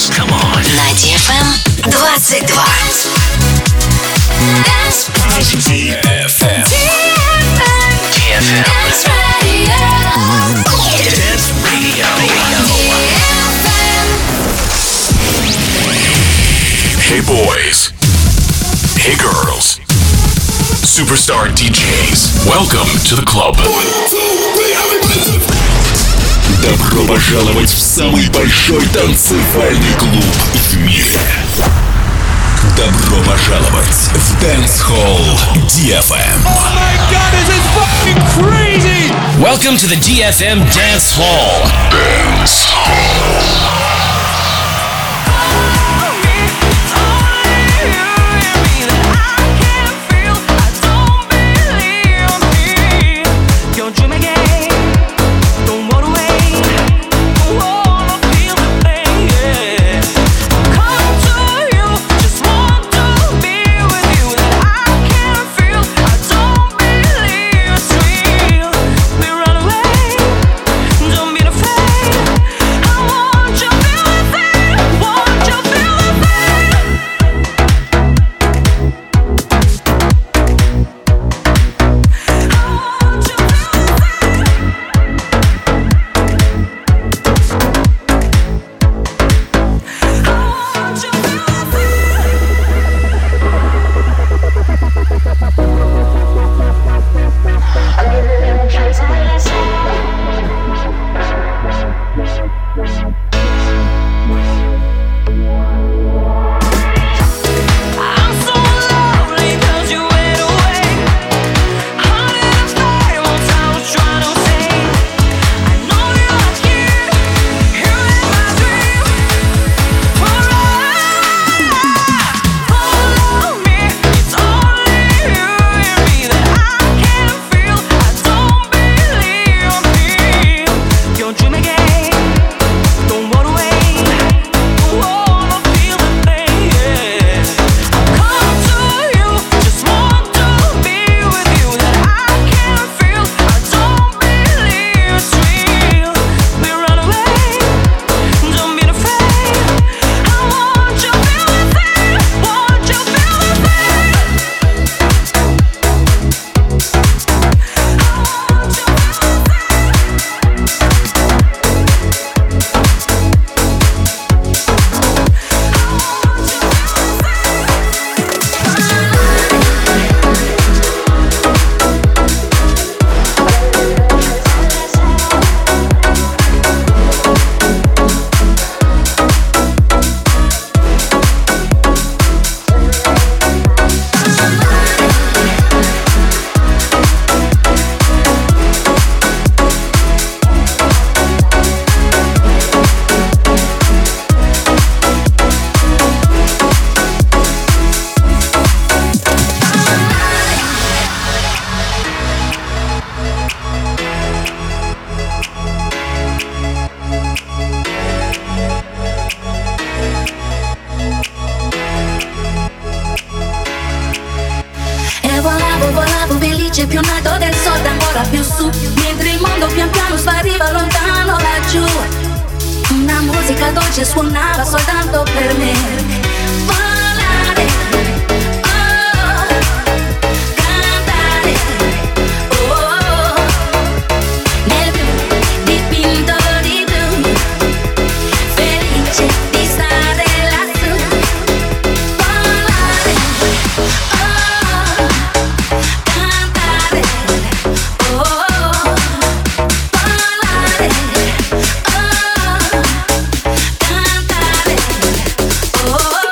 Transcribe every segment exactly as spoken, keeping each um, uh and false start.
Dance. Come on. На ди эф эм двадцать два. ди эф эм. ди эф эм. Dance Radio. Dance Radio. Hey boys. Hey girls. Superstar ди джейс. Welcome to the club. Добро пожаловать в самый большой танцевальный клуб в мире. Добро пожаловать в Dance Hall ди эф эм. Oh my god, this is fucking crazy! Welcome to the ди эф эм Dance Hall. Dance Hall. Più in alto del sole, ancora più su, mentre il mondo pian piano spariva lontano laggiù. Una musica dolce suonava soltanto per me. Volare, oh, cantare, oh, nel blu dipinto di blu, felice di stare lassù. Volare, oh, cantare, oh, volare, oh, cantare, oh.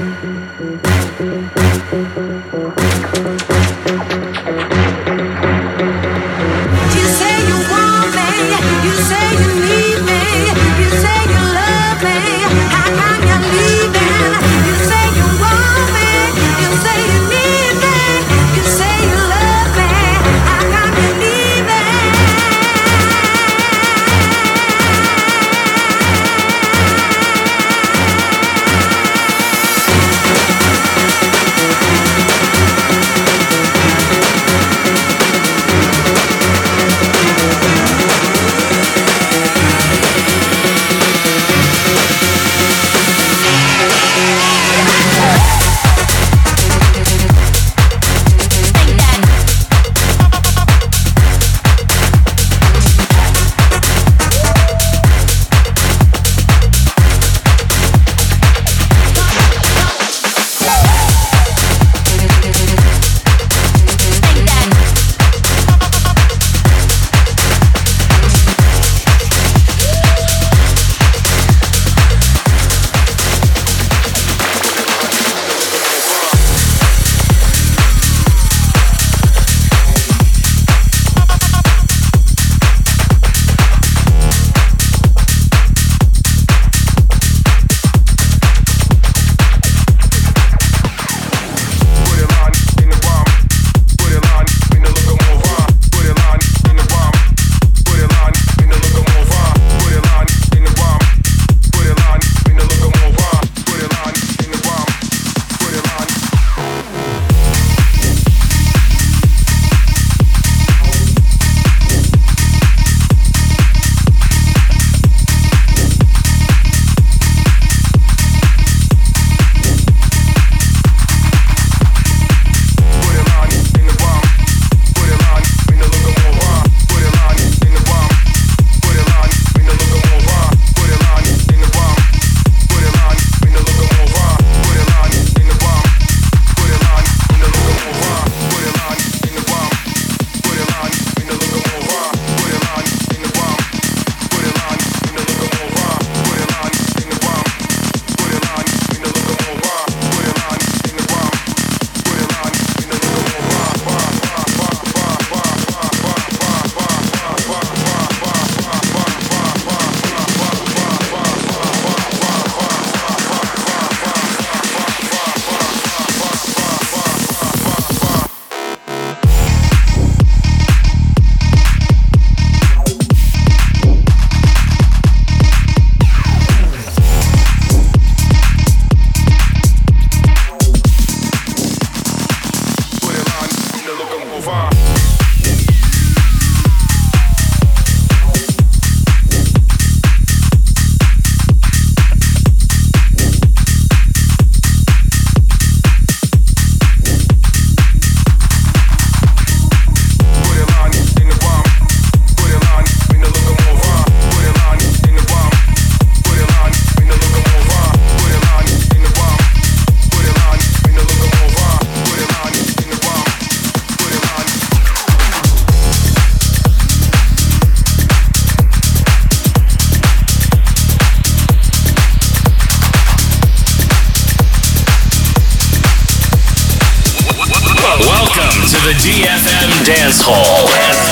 the D F M Dance Hall.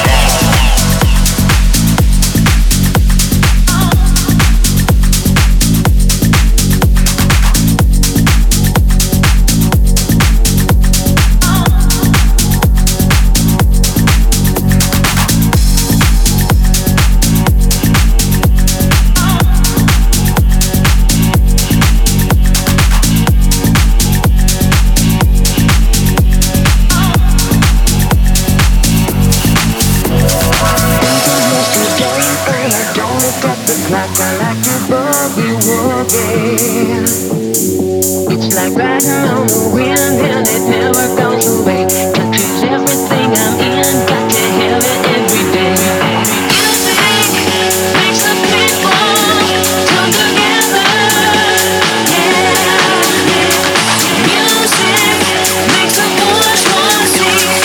It's like riding on the wind and it never goes away. Touches everything I'm in, got to have it every day. Music makes the people come together. Yeah, music makes the boys want to sing.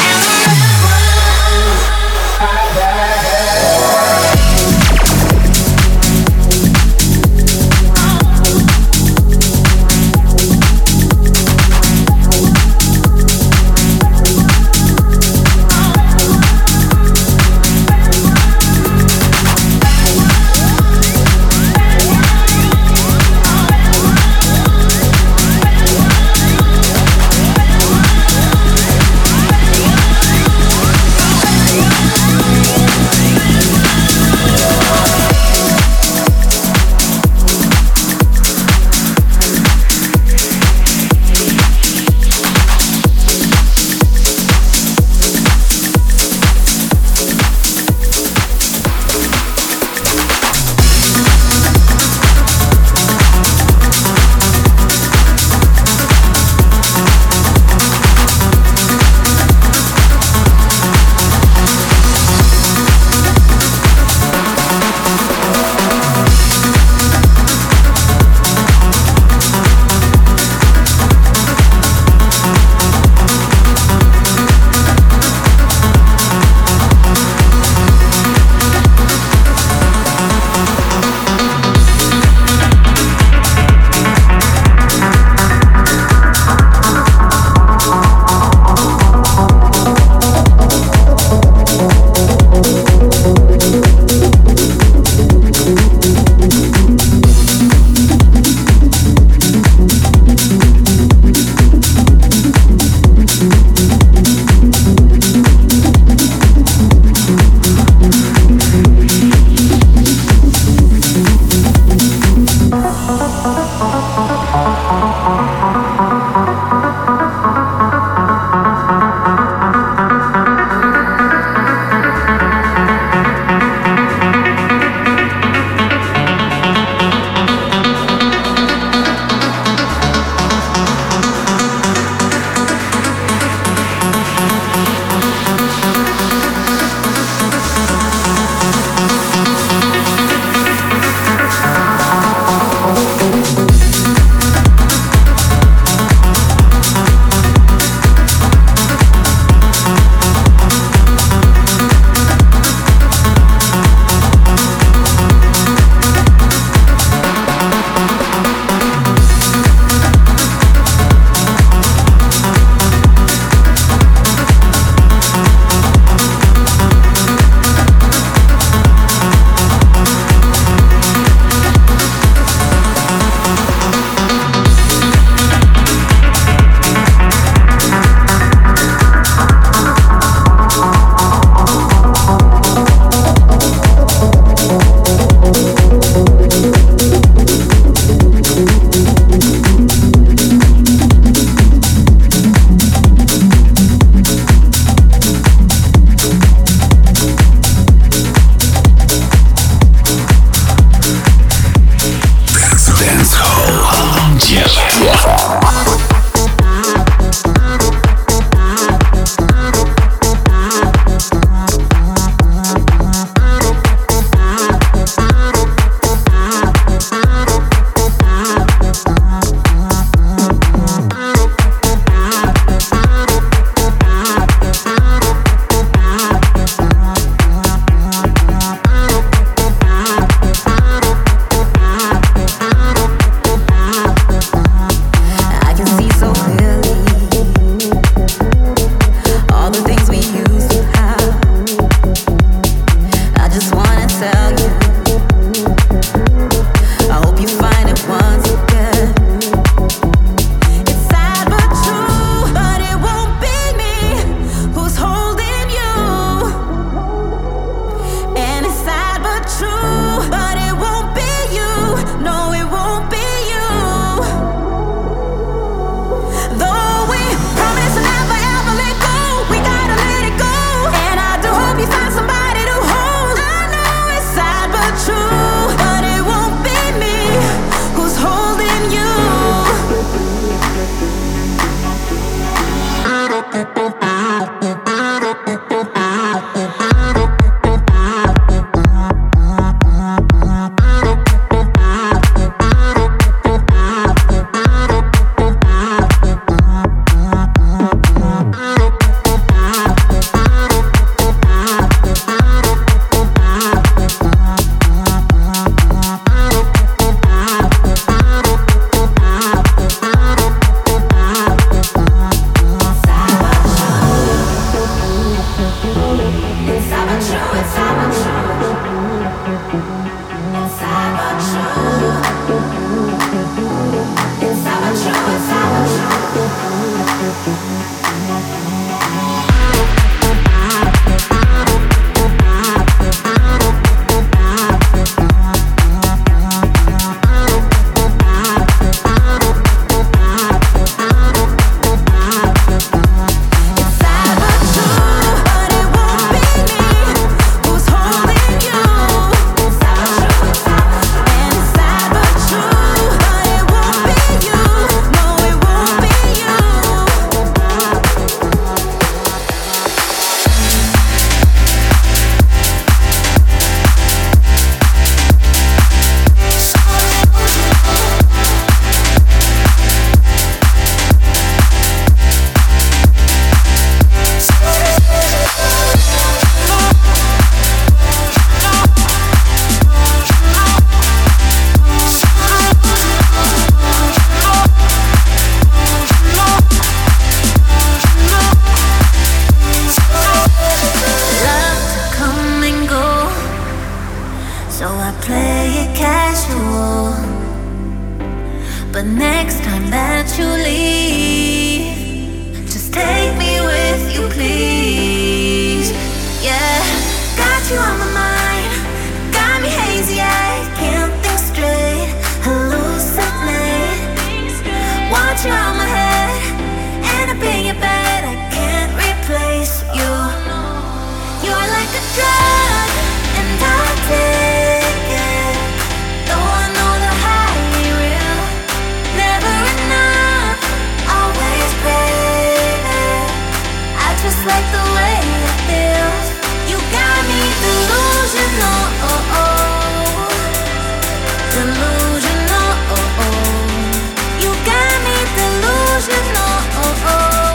next time that you leave, just take me with you, please. Yeah, got you on my mind, got me hazy, I can't think straight, hallucinate. Want you on my head, and up in your bed, I can't replace you. You're like a drug, and I'll take it. Though I know the high ain't real, never enough, always baby. I just like the way it feels. You got me delusional, oh oh, delusional, oh oh. You got me delusional, oh oh,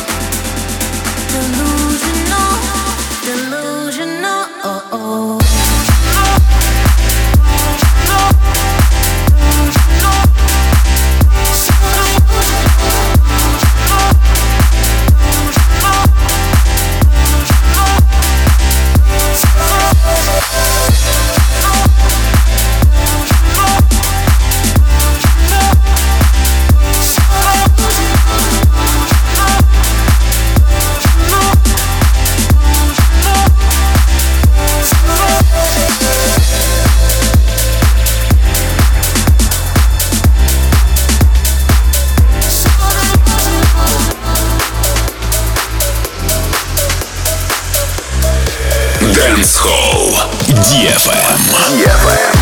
delusional, delusional, oh oh. Dance Hall ди эф эм. ди эф эм.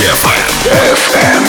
эф эм.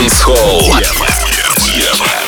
Dance Hall. ди эф эм. ди эф эм.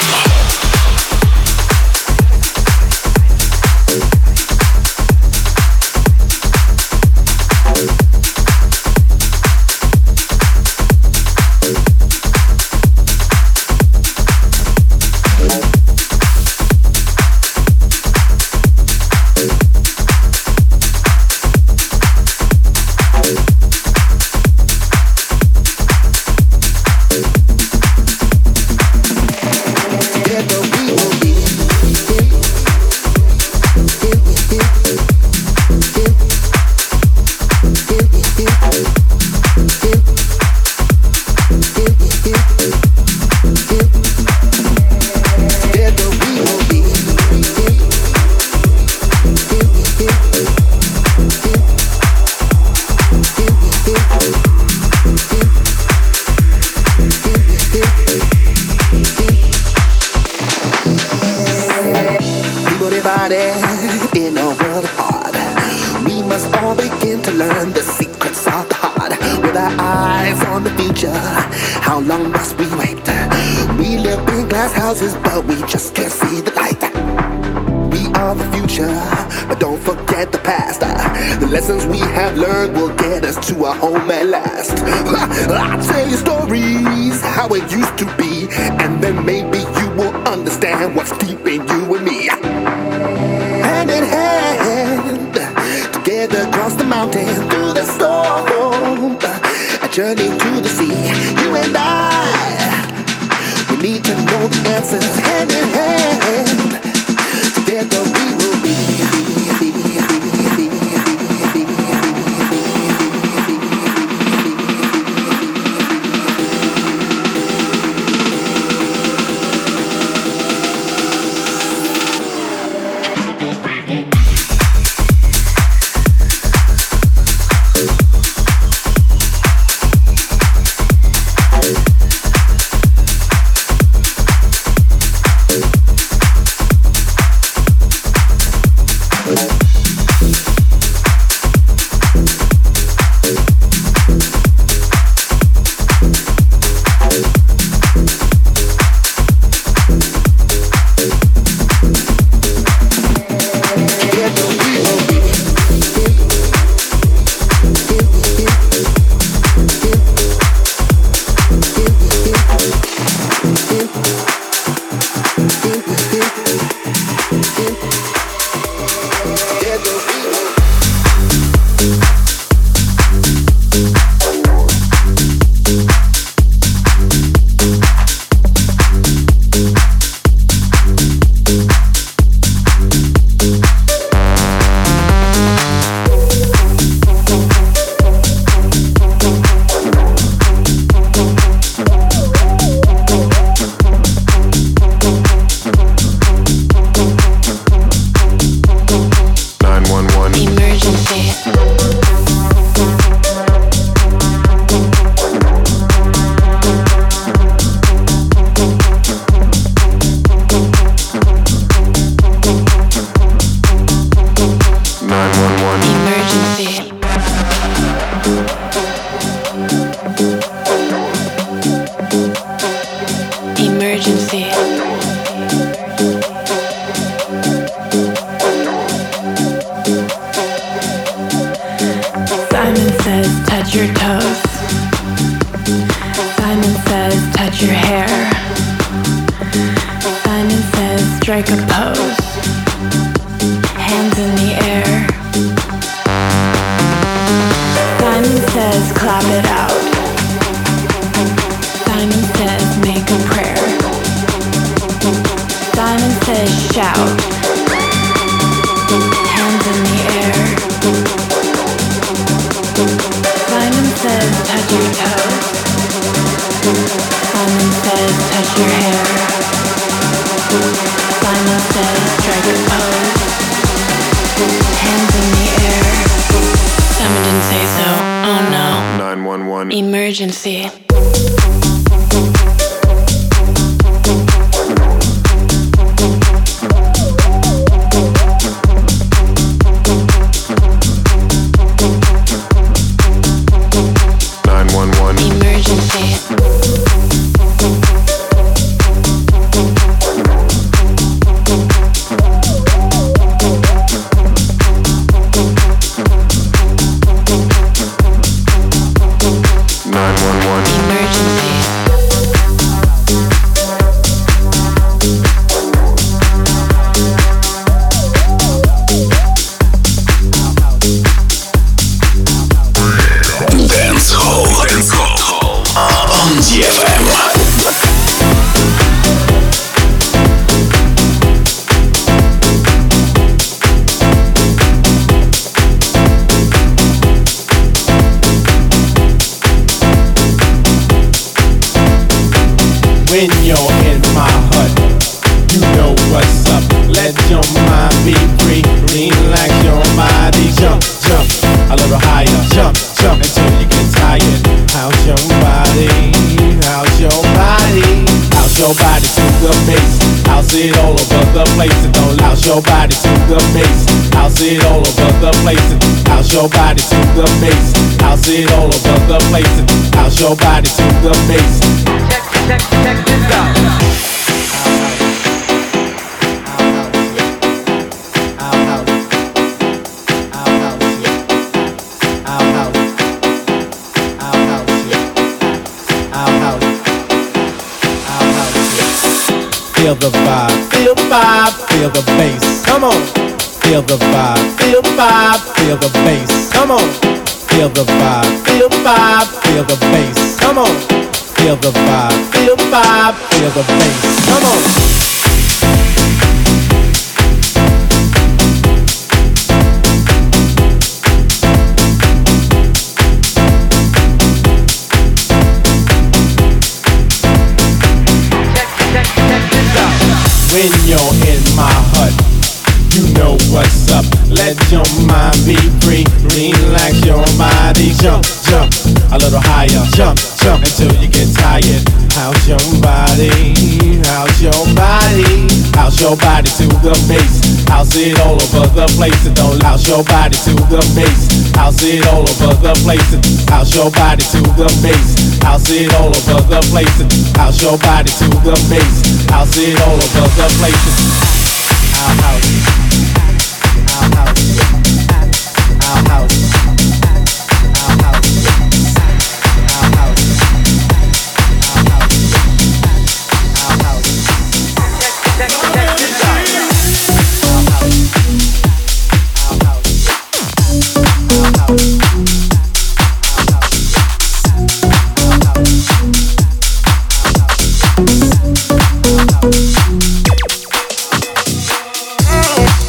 Emergency. nine one one. Emergency. эм. When you're in my hut, you know what's up. Let your mind be free. Relax your body. Jump, jump a little higher. Jump, jump until you get tired. How's your body? How's your body? How's your body to the bass? How's it all over the place? And don't louse your body to the bass. How's it all over the place? And how's your body to the bass? How's it all over the place? And how's your body to the bass? Check, check this out. Feel the vibe, feel the vibe, feel the bass. Come on. Feel the vibe, feel the vibe, feel the bass. Come on. Feel the vibe, feel the vibe, feel the bass. Come on. Feel the vibe, feel the vibe, feel the bass. Come on. When you're in my hut, you know what's up. Let your mind be free. Relax your body. Jump, jump a little higher. Jump, jump until you get tired. How's your body? How's your body? How's your body to the bass? How's it all over the place? And don't louse your body to the bass. How's it all over the place? And how's your body to the bass? How's it all over the place? And how's your body to the bass? How's it all over the place? Our house, our house, our house, our house, our house, our house, check, check, check this out. Our house, our house, our house, our house, our house, our house.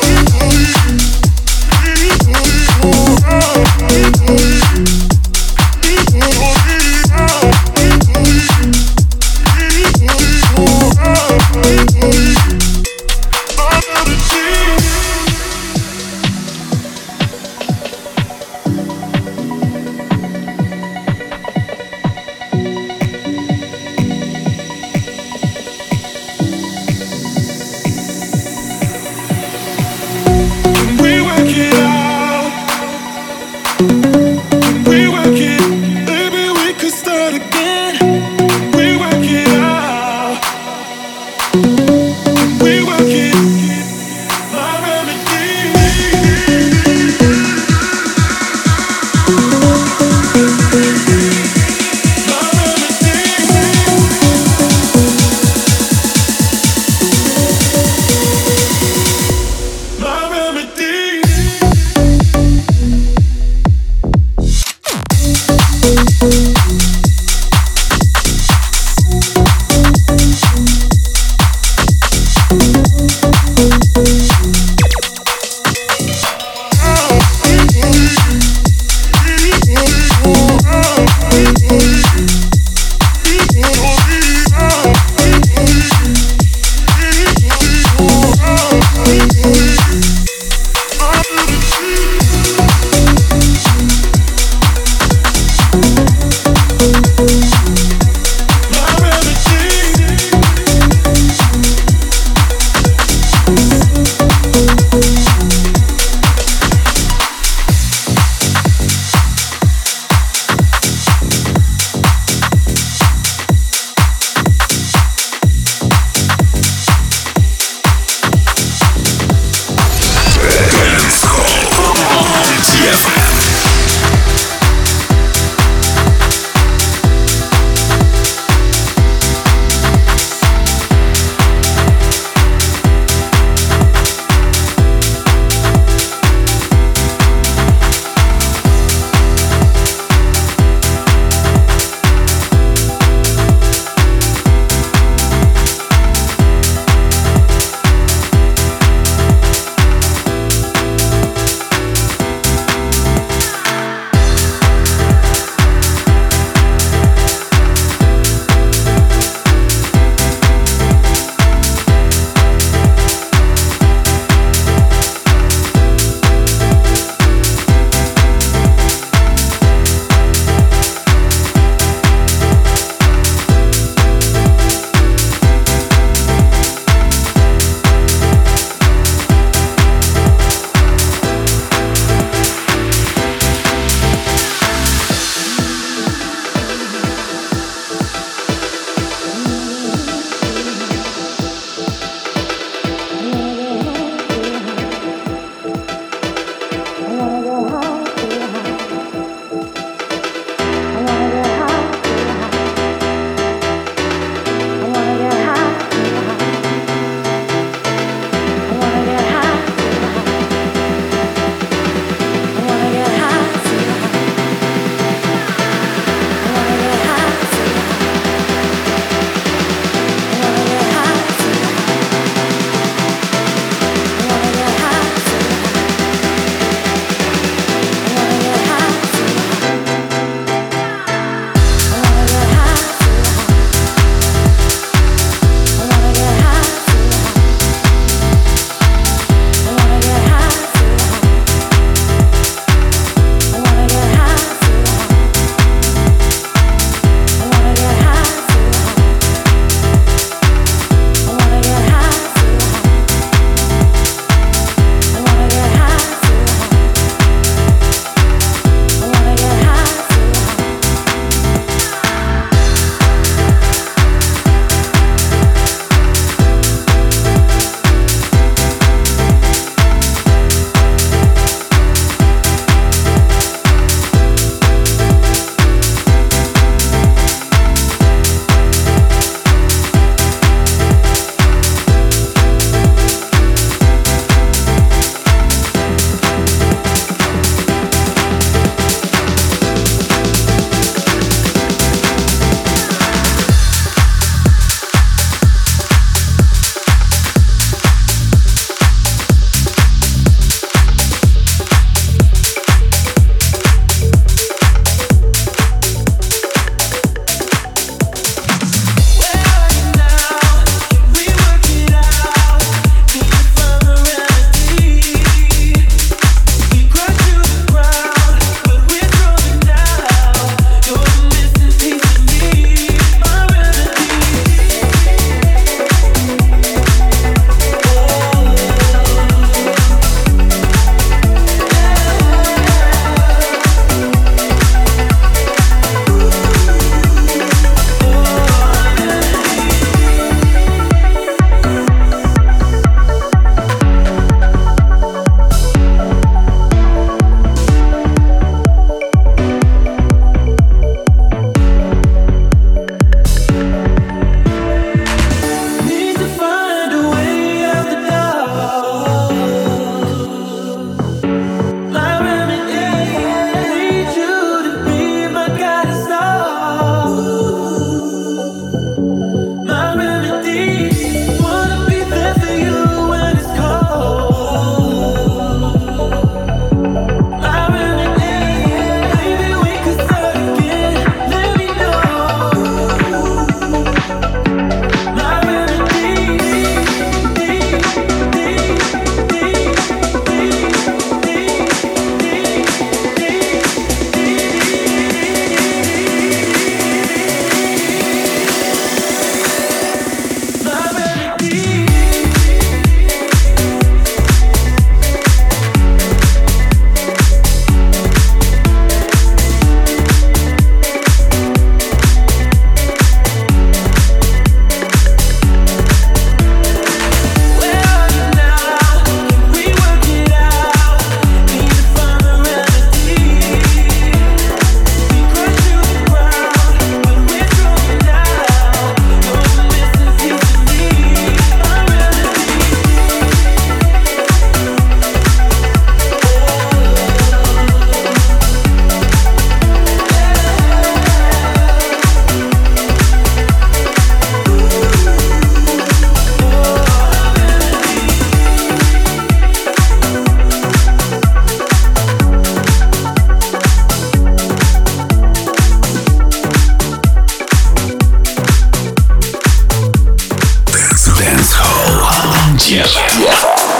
ди эф эм.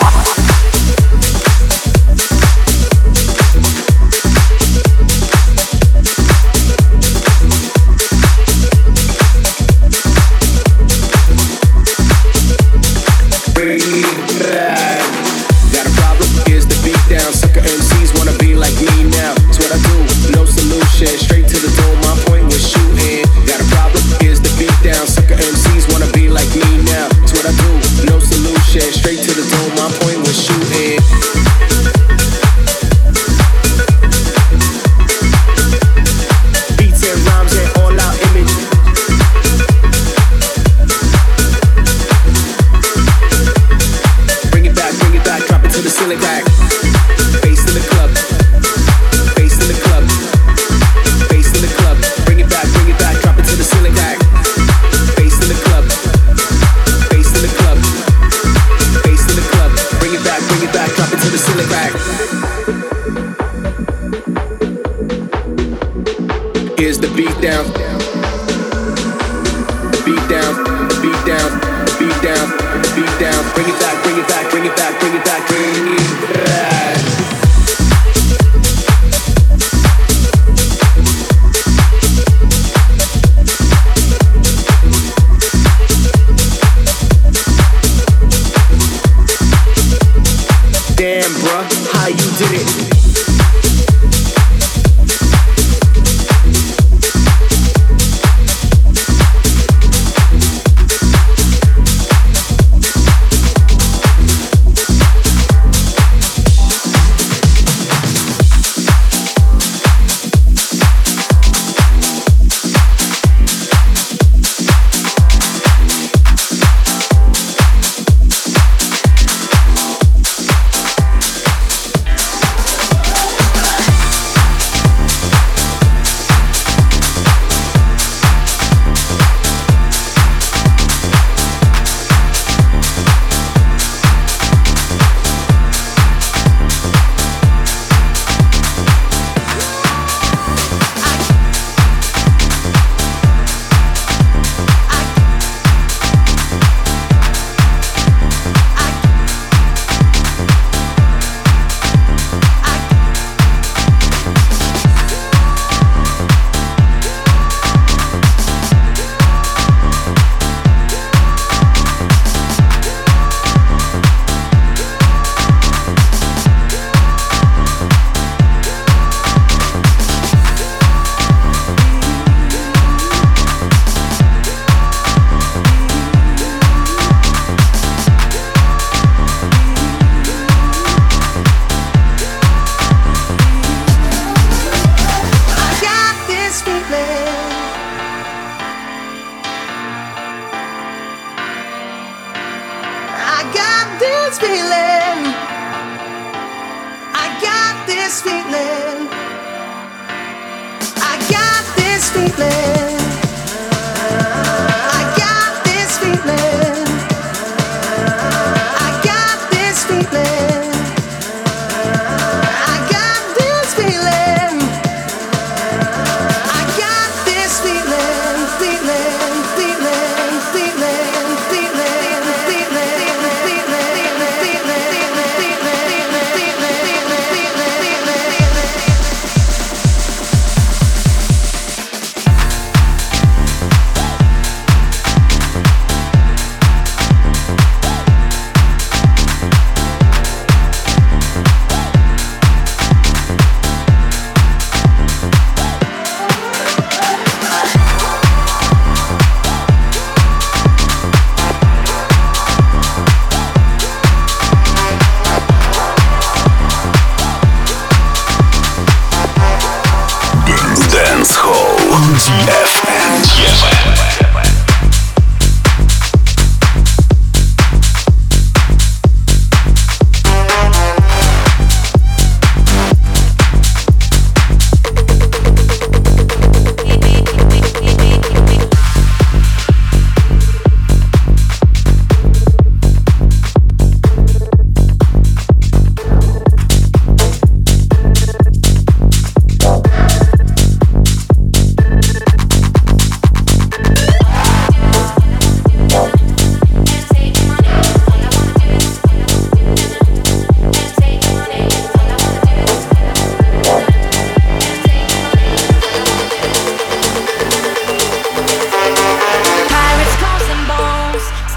Here's the beat down. The beat down, the beat down, the beat down, the beat down. Bring it back, bring it back, bring it back, bring it back, bring it back. Damn, bruh, how you did it?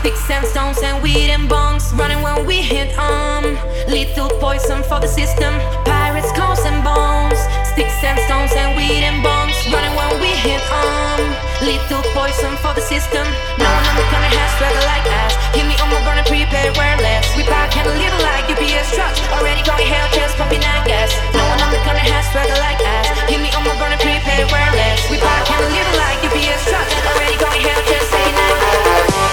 Sticks and stones and weed and bongs, running when we hit um lethal poison for the system. Pirates, cows and bones. Sticks and stones and weed and bongs, running when we hit um lethal poison for the system. No one on the corner has swagger like us. Hit me on my burner, prepared, wear less. We park and a little like U P S trucks. Already going hell, just pumping that gas. No one on the corner has swagger like us. Hit me on my burner, prepared, wear less. We park and a little like U P S trucks. Already going hell, just pumping that gas.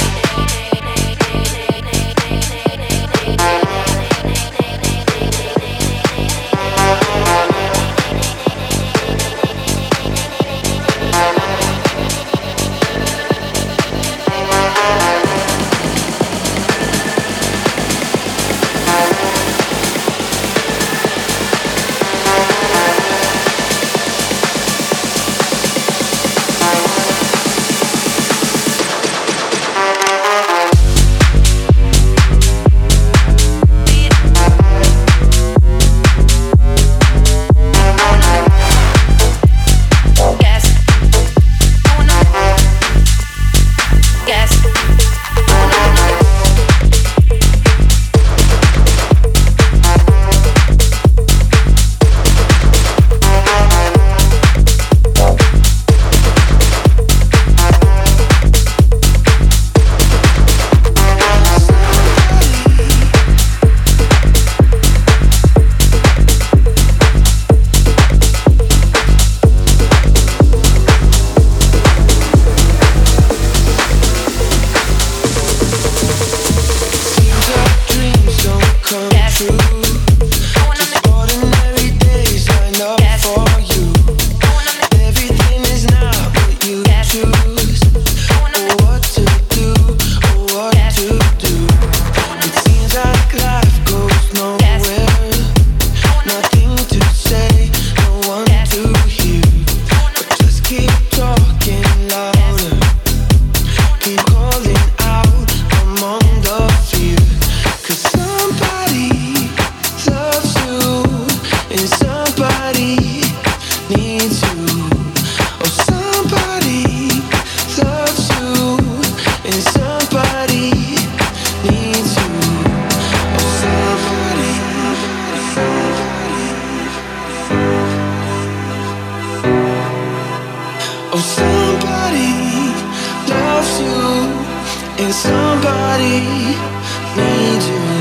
and somebody needs you.